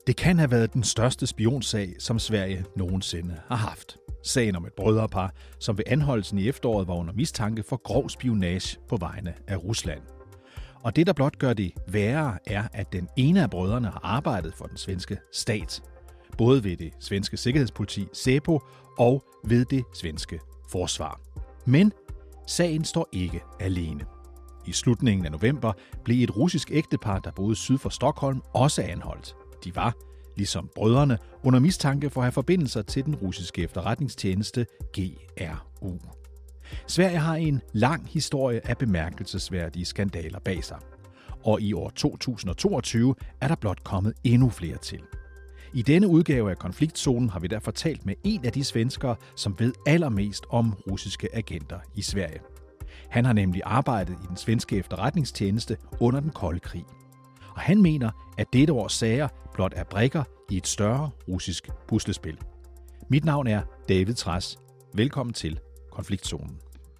Det kan have været den største spionsag, som Sverige nogensinde har haft. Sagen om et brødrepar, som ved anholdelsen i efteråret var under mistanke for grov spionage på vegne af Rusland. Og det, der blot gør det værre, er, at den ene af brødrene har arbejdet for den svenske stat. Både ved det svenske sikkerhedspoliti, SÄPO, og ved det svenske forsvar. Men sagen står ikke alene. I slutningen af november blev et russisk ægtepar, der boede syd for Stockholm, også anholdt. De var, ligesom brødrene, under mistanke for at have forbindelser til den russiske efterretningstjeneste GRU. Sverige har en lang historie af bemærkelsesværdige skandaler bag sig. Og i år 2022 er der blot kommet endnu flere til. I denne udgave af Konfliktzonen har vi derfor talt med en af de svenskere, som ved allermest om russiske agenter i Sverige. Han har nemlig arbejdet i den svenske efterretningstjeneste under den kolde krig. Og han mener, at dette års sager blot er brikker i et større russisk puslespil. Mit navn er David Trads. Velkommen til Konfliktzonen.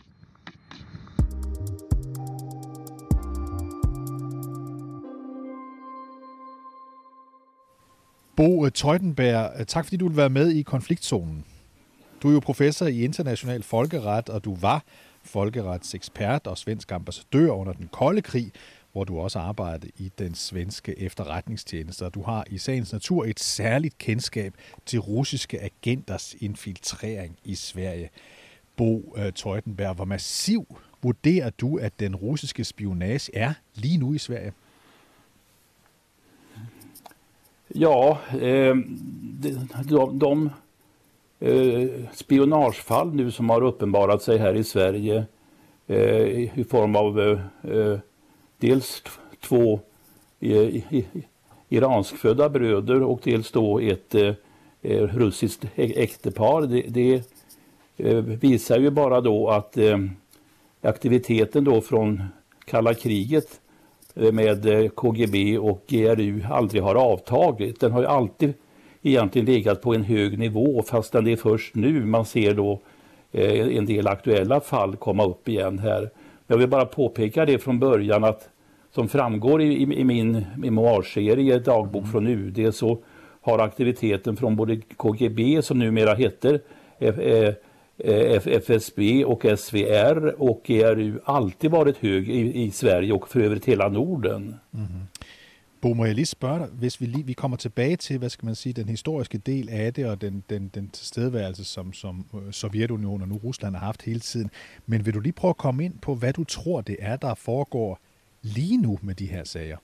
Bo Teutenberg, tak fordi du vil være med i Konfliktzonen. Du er jo professor i international folkeret, og du var folkeretsekspert og svensk ambassadør under den kolde krig, hvor du også arbejdede i den svenske efterretningstjeneste. Du har i sagens natur et særligt kendskab til russiske agenters infiltrering i Sverige. Bo Teutenberg, hvor massiv vurderer du, at den russiske spionage er lige nu i Sverige? Ja, de spionagefall nu som har uppenbarat sig här i Sverige i form av dels två iranskfödda bröder och dels då ett russiskt äktepar. Det visar ju bara då att aktiviteten då från kalla kriget med KGB och GRU aldrig har avtagit. Den har ju alltid egentligen legat på en hög nivå, fastän det är först nu man ser då en del aktuella fall komma upp igen här. Jag vill bara påpeka det från början att som framgår i min memoarserie Dagbok från UD så har aktiviteten från både KGB som numera heter FSB och SVR och GRU alltid varit hög i Sverige och för övrigt hela Norden. Mm-hmm. Bo, må jeg lige spørge dig, hvis vi kommer tilbage til, hvad skal man sige, den historiske del af det og den tilstedeværelse, som Sovjetunionen og nu Rusland har haft hele tiden. Men vil du lige prøve at komme ind på, hvad du tror, det er, der foregår lige nu med de her sager?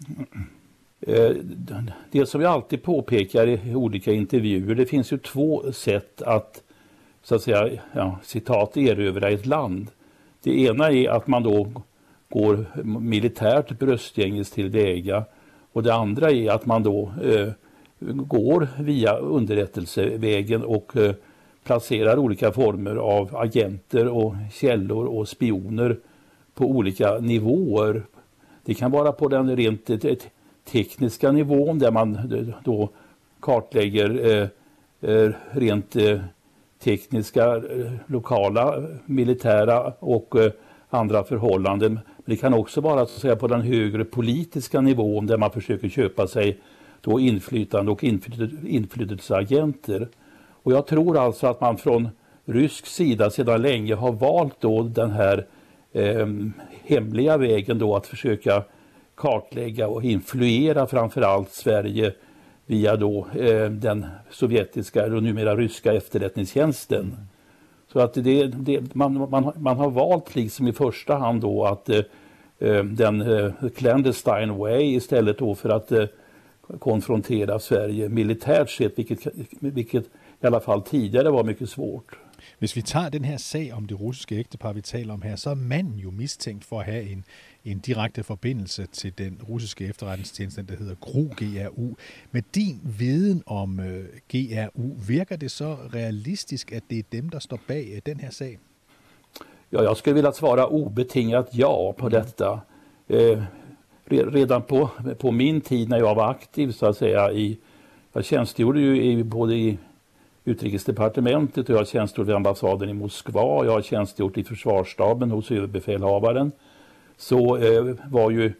Det som jag alltid påpekar i olika intervjuer, det finns ju två sätt att så att säga, citat, erövra ett land. Det ena är att man då går militärt bröstgänges tillväga. Och det andra är att man då går via underrättelsevägen och placerar olika former av agenter och källor och spioner på olika nivåer. Det kan vara på den rent tekniska nivån där man då kartlägger rent tekniska, lokala, militära och andra förhållanden. Men det kan också vara så att säga på den högre politiska nivån där man försöker köpa sig då inflytande och inflytelseagenter. Och jag tror alltså att man från rysk sida sedan länge har valt då den här hemliga vägen då att försöka kartlägga och influera framförallt Sverige via då den sovjetiska och numera ryska efterrättningstjänsten. Så att man har valt liksom i första hand då att den clandestine way istället då för att konfrontera Sverige militärt sett, vilket i alla fall tidigare var mycket svårt. Hvis vi tager den her sag om det russiske ægtepar, vi taler om her, så er manden jo mistænkt for at have en direkte forbindelse til den russiske efterretningstjeneste, der hedder GRU. Med din viden om GRU, virker det så realistisk, at det er dem, der står bag den her sag? Ja, jag skulle vilja svara obetingat ja på detta. Redan på min tid när jag var aktiv så att säga jag tjänstgjorde ju både i utrikesdepartementet och jag har tjänstgjort vid ambassaden i Moskva, jag har tjänstgjort i försvarsstaben hos överbefälhavaren, så var ju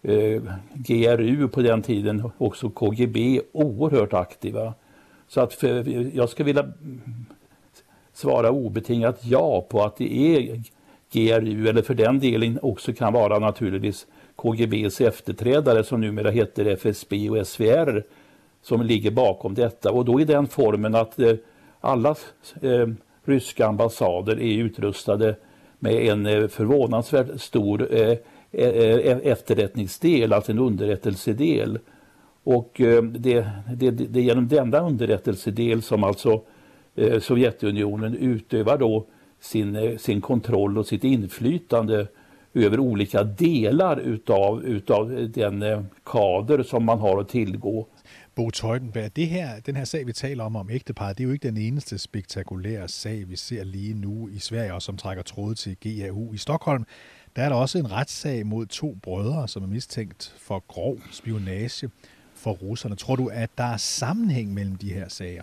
GRU på den tiden, också KGB, oerhört aktiva. Så att jag skulle vilja svara obetingat ja på att det är GRU, eller för den delen också kan vara naturligtvis KGBs efterträdare som numera heter FSB och SVR, som ligger bakom detta. Och då är den formen att alla ryska ambassader är utrustade med en förvånansvärt stor efterrättningsdel, alltså en underrättelsedel. Och det är genom denna underrättelsedel som alltså Sovjetunionen utövar då sin kontroll och sitt inflytande över olika delar utav den kader som man har att tillgå. Bo Teutenberg, den her sag, vi taler om ægteparret, det er jo ikke den eneste spektakulære sag, vi ser lige nu i Sverige, og som trækker tråde til GRU. I Stockholm, der er der også en retssag mod 2 brødre, som er mistænkt for grov spionage for russerne. Tror du, at der er sammenhæng mellem de her sager?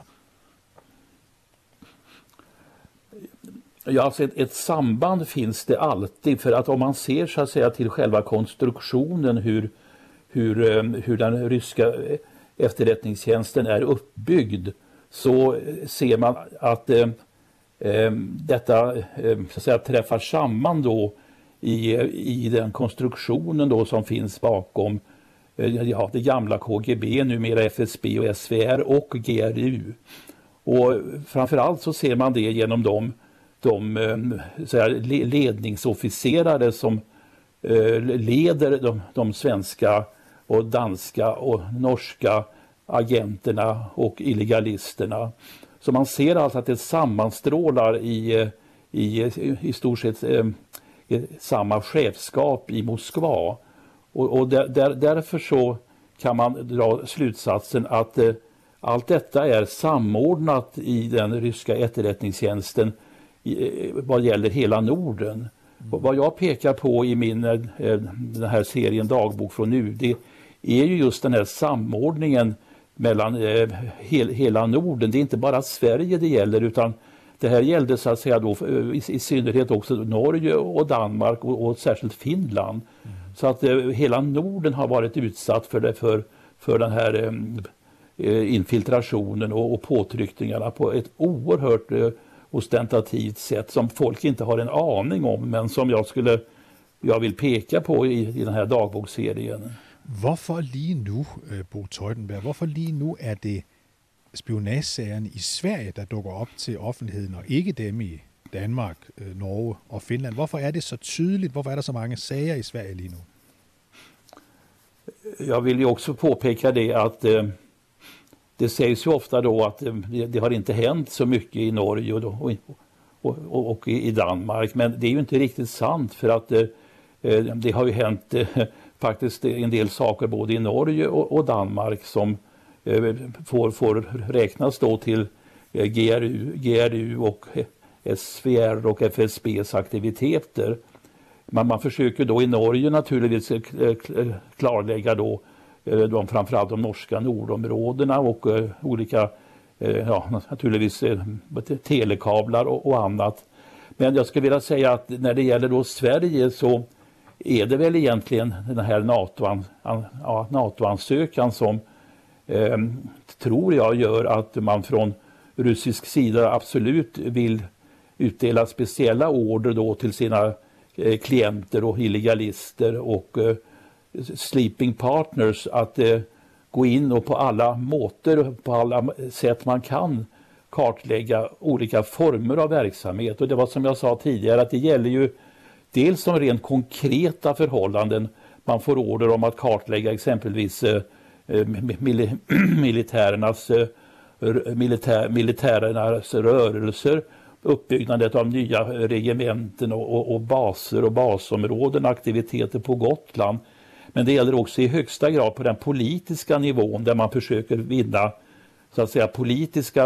Ja, alltså ett samband finns det alltid, för att om man ser så att säga till själva konstruktionen hur den ryska efterrättningstjänsten är uppbyggd, så ser man att detta så att säga träffar samman då i den konstruktionen då som finns bakom det gamla KGB, numera FSB och SVR och GRU. Och framförallt så ser man det genom de så här, ledningsofficerare som leder de svenska och danska och norska agenterna och illegalisterna. Så man ser alltså att det sammanstrålar i stort sett samma chefskap i Moskva. Och därför så kan man dra slutsatsen att allt detta är samordnat i den ryska efterrättningstjänsten vad gäller hela Norden. Vad jag pekar på i den här serien Dagbok från UD är ju just den här samordningen mellan hela Norden. Det är inte bara Sverige det gäller, utan det här gällde så att säga då i synnerhet också Norge och Danmark och särskilt Finland. Så att hela Norden har varit utsatt för den här infiltrationen och påtryckningarna på ett oerhört ostentativt sätt som folk inte har en aning om, men som jag vill peka på i den här dagboksserien. Hvorfor lige nu, Bo Teutenberg, hvorfor lige nu er det spionagesagerne i Sverige, der dukker op til offentligheden, og ikke dem i Danmark, Norge og Finland? Hvorfor er det så tydeligt? Hvorfor er der så mange sager i Sverige lige nu? Jag vill ju också påpeka det att det sägs ju ofta då att det har inte hänt så mycket i Norge och i Danmark, men det är ju inte riktigt sant, för att det har ju hänt faktiskt en del saker både i Norge och Danmark som får räknas då till GRU och SVR och FSBs aktiviteter. Men man försöker då i Norge naturligtvis klarlägga då framförallt de norska nordområdena och olika naturligtvis telekablar och annat. Men jag skulle vilja säga att när det gäller då Sverige så är det väl egentligen den här NATO-ansökan som tror jag gör att man från rysk sida absolut vill utdela speciella order då till sina klienter och illegalister och sleeping partners att gå in och på alla måter, på alla sätt man kan kartlägga olika former av verksamhet. Och det var som jag sa tidigare att det gäller ju dels som rent konkreta förhållanden. Man får order om att kartlägga exempelvis militärernas rörelser, uppbyggnadet av nya regementen och baser och basområden, aktiviteter på Gotland. Men det gäller också i högsta grad på den politiska nivån där man försöker vinna så att säga politiska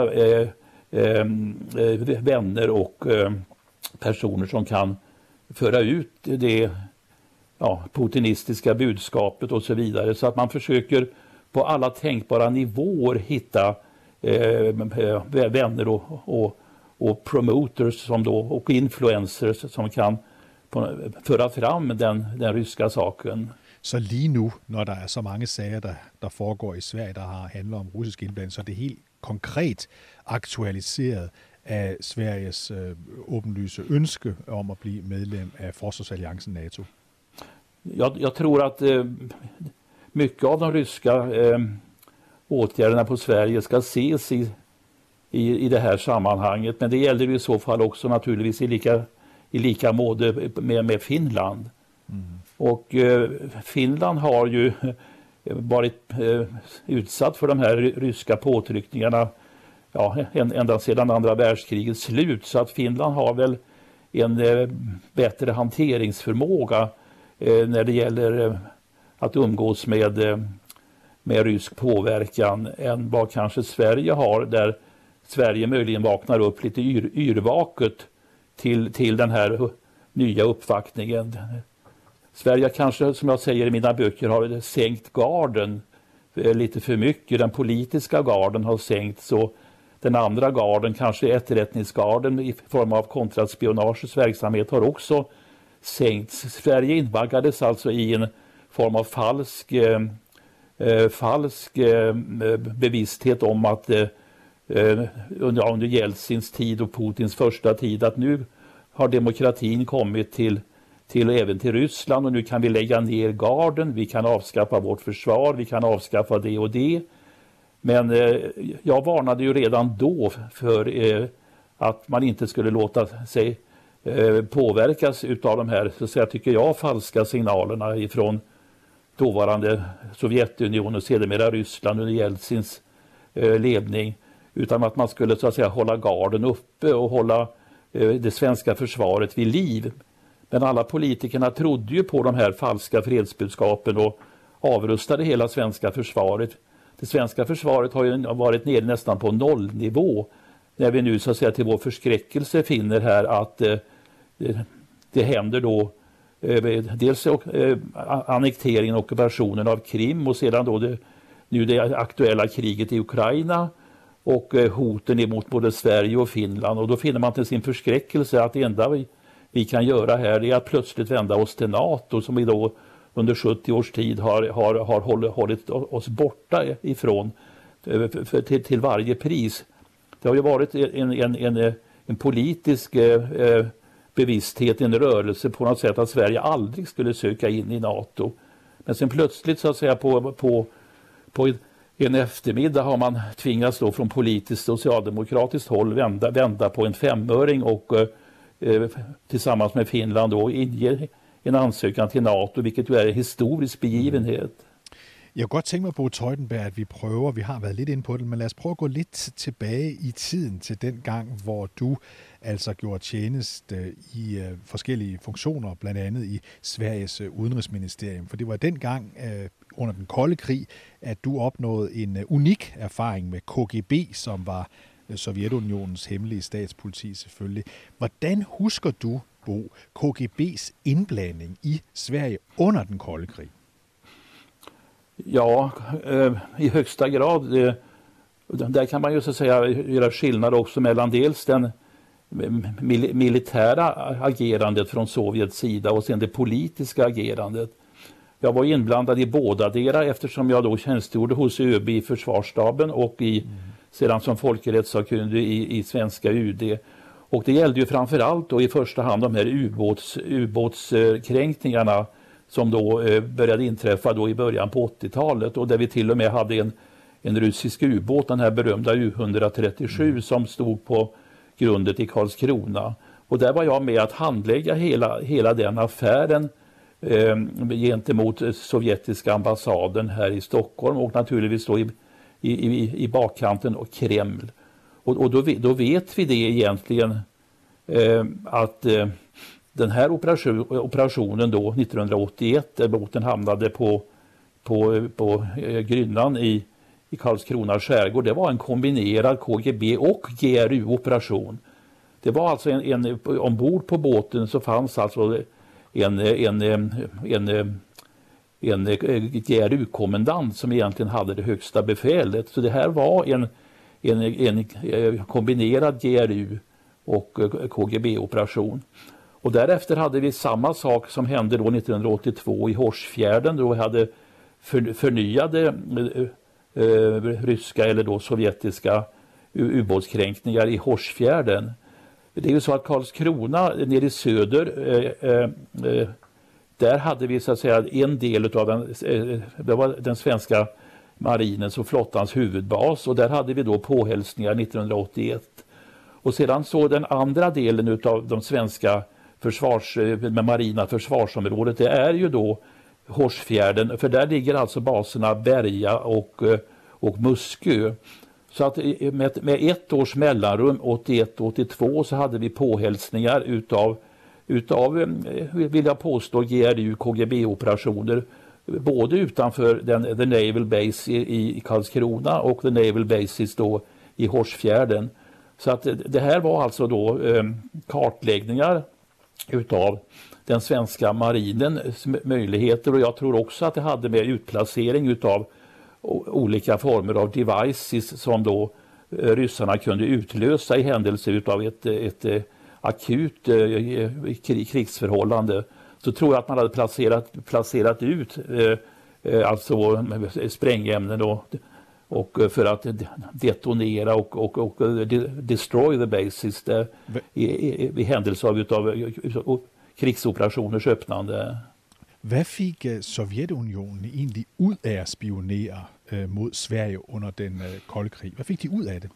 vänner och personer som kan föra ut det putinistiska budskapet och så vidare. Så att man försöker på alla tänkbara nivåer hitta vänner och promoters som då, och influencers som kan föra fram den ryska saken. Så lige nu, når der er så mange sager, der foregår i Sverige, der handler om russisk indblanding, så er det helt konkret aktualiseret af Sveriges åbenlyse ønske om at blive medlem af Forsvarsalliancen NATO. Jag tror att mycket av de ryska åtgärderna på Sverige ska ses i det här sammanhanget. Men det gäller i så fall också naturligtvis i lika måte med Finland. Och Finland har ju varit utsatt för de här ryska påtryckningarna ända sedan andra världskrigets slut. Så att Finland har väl en bättre hanteringsförmåga när det gäller att umgås med rysk påverkan än vad kanske Sverige har, där Sverige möjligen vaknar upp lite yrvaket till den här nya uppvaktningen. Sverige kanske, som jag säger i mina böcker, har sänkt garden lite för mycket. Den politiska garden har sänkts och den andra garden, kanske efterrättningsgarden i form av kontraspionagets verksamhet, har också sänkts. Sverige invaggades alltså i en form av falsk bevissthet om att under Jeltsins tid och Putins första tid att nu har demokratin kommit även till Ryssland och nu kan vi lägga ner garden, vi kan avskaffa vårt försvar, vi kan avskaffa det och det. Men jag varnade ju redan då för att man inte skulle låta sig påverkas utav de här, så att säga, tycker jag, falska signalerna ifrån dåvarande Sovjetunionen och sedermera Ryssland under Jeltsins ledning, utan att man skulle, så att säga, hålla garden uppe och hålla det svenska försvaret vid liv. Men alla politikerna trodde ju på de här falska fredsbudskapen och avrustade hela svenska försvaret. Det svenska försvaret har ju varit nere nästan på nollnivå när vi nu, så att säga, till vår förskräckelse finner här att det händer då dels annekteringen och ockupationen av Krim och sedan då det aktuella kriget i Ukraina och hoten emot både Sverige och Finland. Och då finner man till sin förskräckelse att det enda vi kan göra här är att plötsligt vända oss till NATO, som vi då under 70 års tid har hållit oss borta ifrån till varje pris. Det har ju varit en politisk bevissthet, en rörelse på något sätt att Sverige aldrig skulle söka in i NATO. Men sen plötsligt, så att säga, på en eftermiddag har man tvingats då från politiskt socialdemokratiskt håll vända på en 5-öring och tillsammans med Finland då inge en ansøgning til NATO, hvilket jo er en historisk begivenhed. Jeg kunne godt tænke mig, Bo Teutenberg, at vi har været lidt inde på det, men lad os prøve at gå lidt tilbage i tiden til den gang, hvor du altså gjorde tjeneste i forskellige funktioner, blandt andet i Sveriges udenrigsministerium. For det var dengang under den kolde krig, at du opnåede en unik erfaring med KGB, som var Sovjetunionens hemmelige statspoliti selvfølgelig. Hvordan husker du, Bo, KGB's indblanding i Sverige under den kolde krig? Ja, i högsta grad. Där kan man ju, så att säga, göra skillnad också mellan dels den militära agerandet från Sovjets sida och sen det politiska agerandet. Jag var inblandad i båda delar eftersom jag då tjänstgjorde hos ÖB i försvarsstaben och sedan som folkrättssakkunnig i svenska UD. Och det gällde ju framförallt då i första hand de här ubåtskränkningarna som då började inträffa då i början på 80-talet och där vi till och med hade en rysk ubåt, den här berömda U-137 som stod på grundet i Karlskrona. Och där var jag med att handlägga hela den affären gentemot sovjetiska ambassaden här i Stockholm och naturligtvis då i bakkanten och Kreml. Och då vet vi det egentligen att den här operationen då 1981 där båten hamnade på Grynnan i Karlskrona skärgård, det var en kombinerad KGB och GRU-operation. Det var alltså ombord på båten så fanns alltså en GRU-kommendant som egentligen hade det högsta befälet. Så det här var en kombinerad GRU och KGB-operation. Och därefter hade vi samma sak som hände då 1982 i Hårsfjärden, då vi hade förnyade ryska eller då sovjetiska ubåtskränkningar i Hårsfjärden. Det är ju så att Karlskrona nere i söder, där hade vi så att säga en del av det var den svenska marinens och flottans huvudbas, och där hade vi då påhälsningar 1981. Och sedan så den andra delen av de svenska med marina försvarsområdet, det är ju då Hårsfjärden, för där ligger alltså baserna Berga och Muskö. Så att med ett års mellanrum, 81-82, så hade vi påhälsningar utav vill jag påstå, GRU-KGB-operationer både utanför the Naval Base i Karlskrona och the Naval Bases då i Hårsfjärden. Så att det här var alltså då kartläggningar utav den svenska marinens möjligheter, och jag tror också att det hade med utplacering utav olika former av devices som då ryssarna kunde utlösa i händelse utav ett akut krigsförhållande. Så tror jag att man hade placerat ut alltså sprängämnen och för att detonera och destroy the bases i händelse av krigsoperationers öppnande. Hvad fik Sovjetunionen egentlig ud af at spionere mod Sverige under den kolde krig? Hvad fik de ud af det?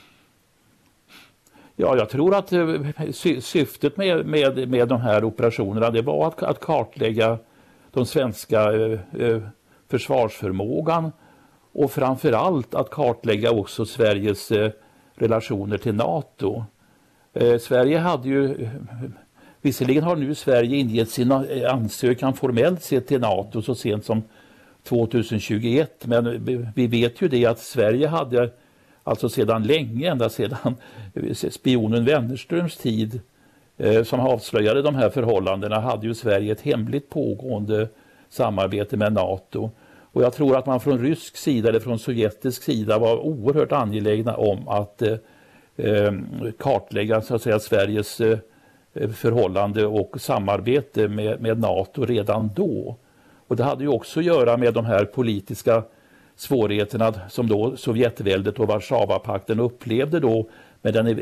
Ja, jag tror att syftet med de här operationerna, det var att kartlägga de svenska försvarsförmågan, och framförallt att kartlägga också Sveriges relationer till NATO. Sverige hade ju, visserligen har nu Sverige ingett sin ansökan formellt sett till NATO så sent som 2021, men vi vet ju det att Sverige hade alltså sedan länge, ända sedan spionen Wennerströms tid som avslöjade de här förhållandena, hade ju Sverige ett hemligt pågående samarbete med NATO. Och jag tror att man från rysk sida eller från sovjetisk sida var oerhört angelägna om att kartlägga så att säga Sveriges förhållande och samarbete med NATO redan då. Och det hade ju också att göra med de här politiska svårigheterna som då Sovjetväldet och Warszawapakten upplevde då med den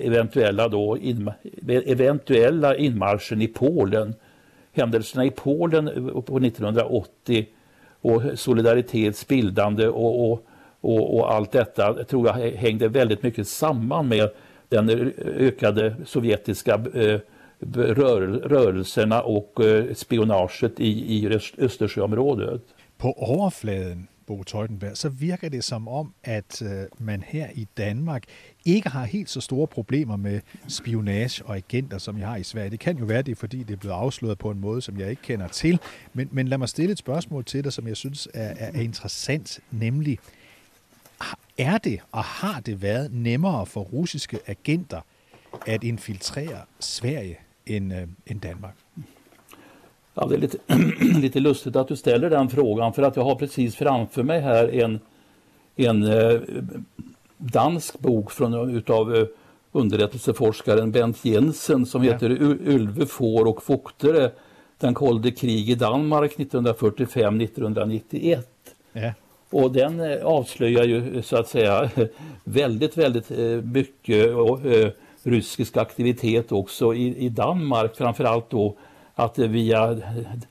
eventuella inmarschen i Polen. Händelserna i Polen på 1980 och Solidaritets bildande och allt detta tror jag hängde väldigt mycket samman med den ökade sovjetiska rörelserna och spionaget i Østersjöområdet. På overfladen, Bo Teutenberg, så virker det som om, at man her i Danmark ikke har helt så store problemer med spionage og agenter, som jeg har i Sverige. Det kan jo være, det er fordi, det er blevet afsløret på en måde, som jeg ikke kender til. Men lad mig stille et spørgsmål til dig, som jeg synes er interessant, nemlig, er det og har det været nemmere for russiske agenter at infiltrere Sverige end Danmark? Ja, det är lite lustigt att du ställer den frågan, för att jag har precis framför mig här en dansk bok utav underrättelseforskaren Bent Jensen som heter Ylve, får och fugtere, den kolde krig i Danmark 1945-1991. Ja. Och den avslöjar ju så att säga väldigt mycket rysk aktivitet också i Danmark, framförallt då att via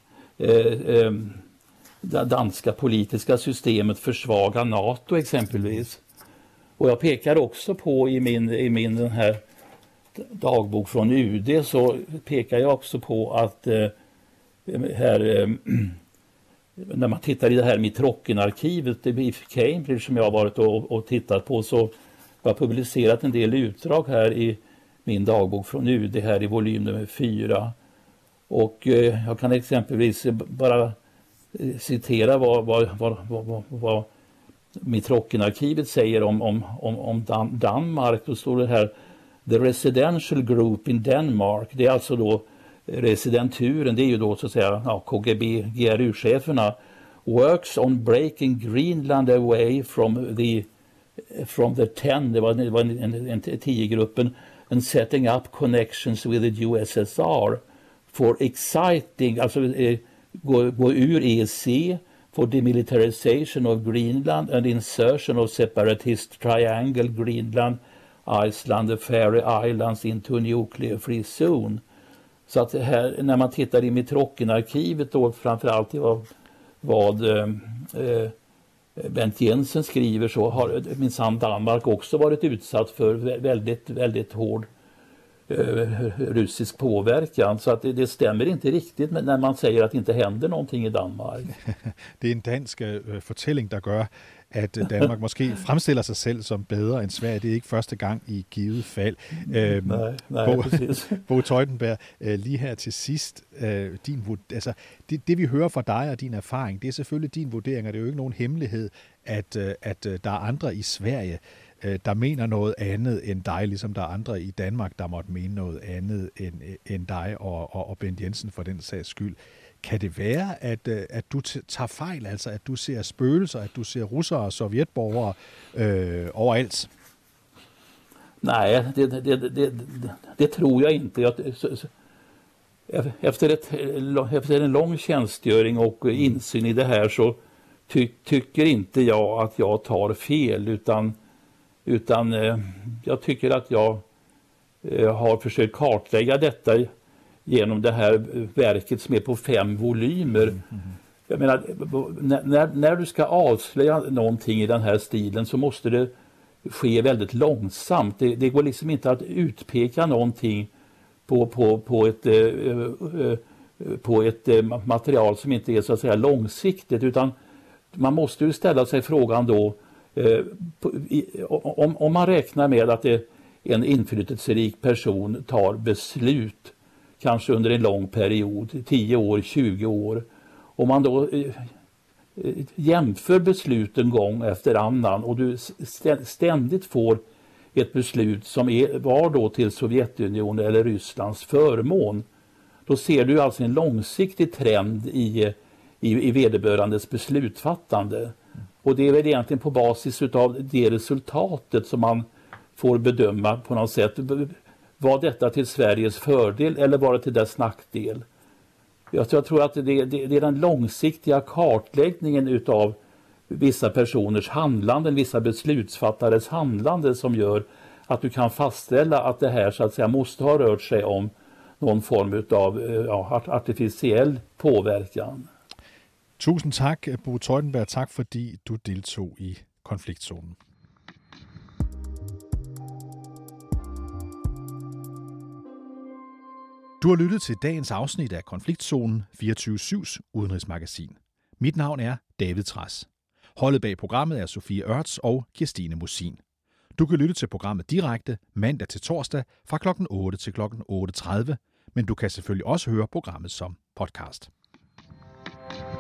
det danska politiska systemet försvaga NATO exempelvis. Och jag pekar också på i min den här dagbok från UD, så pekar jag också på att här när man tittar i det här Mitrokhin-arkivet i Cambridge som jag har varit och tittat på, så har jag publicerat en del utdrag här i min dagbok från UD här i volym nummer 4. Och jag kan exempelvis bara citera vad Mitrokhin-arkivet säger om Danmark. Då står det här: The residential group in Denmark, det är alltså då residenturen, det är ju då så att säga KGB, GRU-cheferna, works on breaking Greenland away from the 10, det var en 10-gruppen, and setting up connections with the USSR. for exciting, alltså gå ur EEC, for demilitarization of Greenland and insertion of separatist triangle Greenland, Iceland and Faroe Islands into a nuclear free zone. Så att här, när man tittar i Mitrocken-arkivet då, framförallt i vad Bent Jensen skriver, så har minsann Danmark också varit utsatt för väldigt, väldigt hård rysk påverkan. Så att det stämmer inte riktigt när man säger att det inte händer någonting i Danmark. Det är en dansk fortælling, der gør, at Danmark måske fremstiller sig selv som bedre end Sverige. Det er ikke første gang i givet fald. Nej, præcis. Bo Teutenberg, lige her til sidst, det vi hører fra dig og din erfaring, det er selvfølgelig din vurdering, og det er jo ikke nogen hemmelighed, at der er andre i Sverige, der mener noget andet end dig, ligesom der er andre i Danmark, der måtte mene noget andet end dig og Bent Jensen for den sags skyld. Kan det være, at du tager fejl, altså at du ser spøgelser, at du ser russere og sovjetborgere overalt? Nej, det tror jag inte. Efter en lång tjänstgöring och insyn i det här så tycker inte jag att jag tar fel, utan jag tycker att jag har försökt kartlägga detta genom det här verket som är på 5 volymer. Jag menar, när du ska avslöja någonting i den här stilen så måste det ske väldigt långsamt. Det går liksom inte att utpeka någonting på ett material som inte är så att säga långsiktigt, utan man måste ju ställa sig frågan då, om man räknar med att en inflytelserik person tar beslut kanske under en lång period, 10 år, 20 år, om man då jämför besluten gång efter annan och du ständigt får ett beslut som var då till Sovjetunionen eller Rysslands förmån, då ser du alltså en långsiktig trend i vederbörandes beslutfattande. Och det är väl egentligen på basis av det resultatet som man får bedöma på något sätt. Var detta till Sveriges fördel eller var det till dess nackdel? Jag tror att det är den långsiktiga kartläggningen utav vissa personers handlande, vissa beslutsfattares handlande som gör att du kan fastställa att det här så att säga måste ha rört sig om någon form av artificiell påverkan. Tusind tak, Bo Teutenberg. Tak fordi du deltog i konfliktzonen. Du har lyttet til dagens afsnit af Konfliktzonen, 24/7's udenrigsmagasin. Mit navn er David Trads. Holdet bag programmet er Sofie Ørts og Kirstine Musin. Du kan lytte til programmet direkte mandag til torsdag fra kl. 8 til kl. 8:30, men du kan selvfølgelig også høre programmet som podcast.